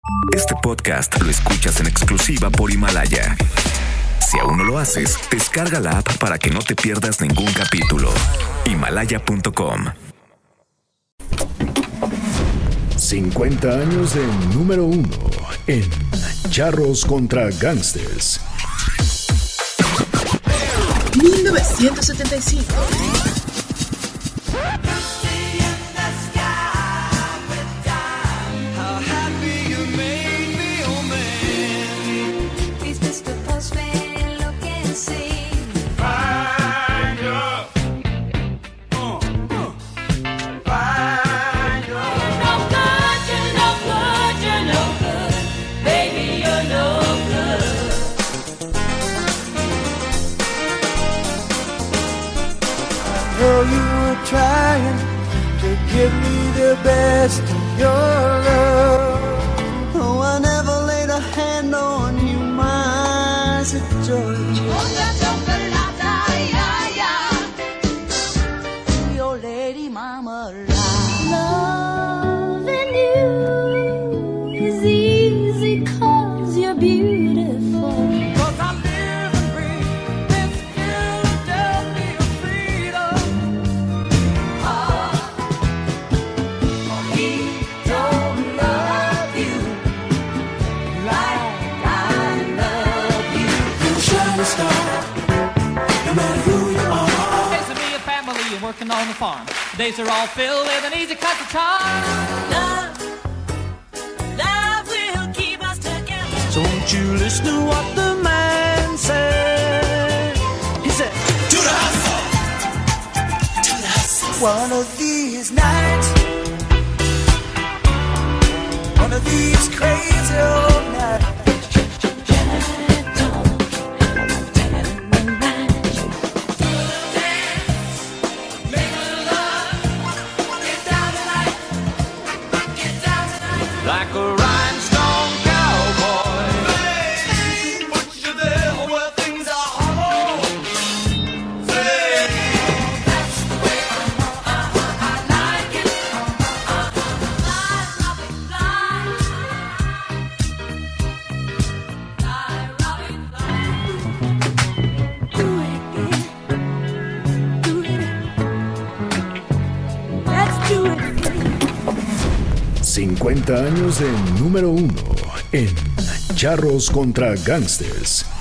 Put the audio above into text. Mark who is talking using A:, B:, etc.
A: Este podcast lo escuchas en exclusiva por Himalaya. Si aún no lo haces, descarga la app para que no te pierdas ningún capítulo. Himalaya.com.
B: 50 años de número 1 en Charros contra Gangsters.
C: 1975.
D: Know you were trying to give me the best of your love. Oh, I never laid a hand on you, my St. George. Oh, yeah, your lady mama lied.
E: Loving you is easy 'cause you're beautiful.
F: Working on the farm, the days are all filled with an easy cut to charm. Love will keep us together.
D: So won't you listen to what the man said? He said, to the hustle, to the hustle. One of these nights, one of these crazy old nights.
F: Like a rhinestone cowboy.
D: Say, put you there where things are hollow. Say, that's the way I like it. Fly, Robin, fly. Fly, Robin, fly. Do it again. Do it. Let's do it again.
B: 50 años de número 1 en Charros contra Gangsters.